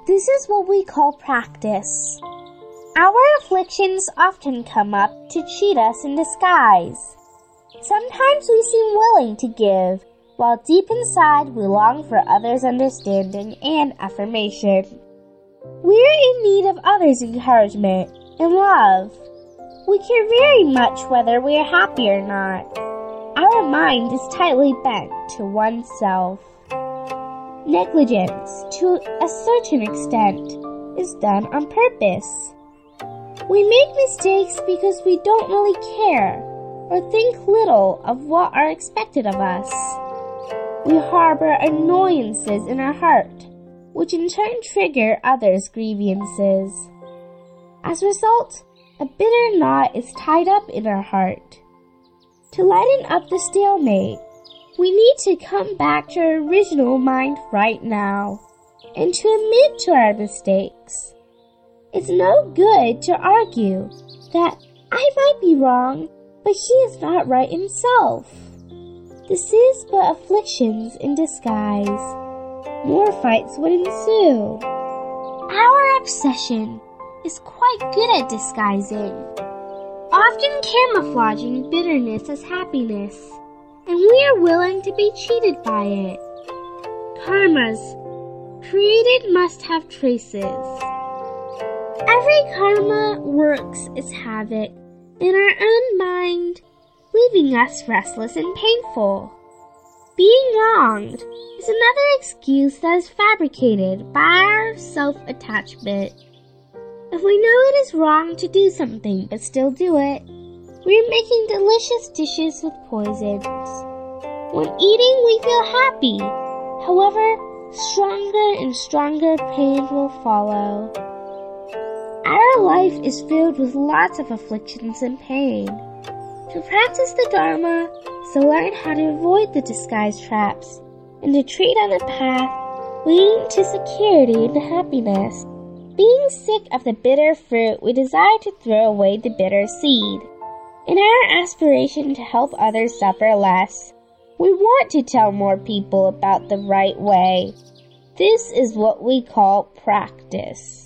This is what we call practice. Our afflictions often come up to cheat us in disguise. Sometimes we seem willing to give, while deep inside we long for others' understanding and affirmation. We're in need of others' encouragement and love. We care very much whether we are happy or not. Our mind is tightly bent to oneself. Negligence, to a certain extent, is done on purpose. We make mistakes because we don't really care or think little of what are expected of us. We harbor annoyances in our heart, which in turn trigger others' grievances. As a result, a bitter knot is tied up in our heart. To lighten up the stalemate, we need to come back to our original mind right now and to admit to our mistakes. It's no good to argue that I might be wrong, but he is not right himself. This is but afflictions in disguise. More fights would ensue. Our obsession is quite good at disguising, often camouflaging bitterness as happiness, and we are willing to be cheated by it. Karmas created must have traces. Every karma works its havoc in our own mind, leaving us restless and painful. Being wronged is another excuse that is fabricated by our self-attachment. If we know it is wrong to do something but still do it, we are making delicious dishes with poisons. When eating, we feel happy. However, stronger and stronger pain will follow. Our life is filled with lots of afflictions and pain. To practice the Dharma is to learn how to avoid the disguise traps and to tread on the path leading to security and happiness. Being sick of the bitter fruit, we desire to throw away the bitter seed. In our aspiration to help others suffer less, we want to tell more people about the right way. This is what we call practice.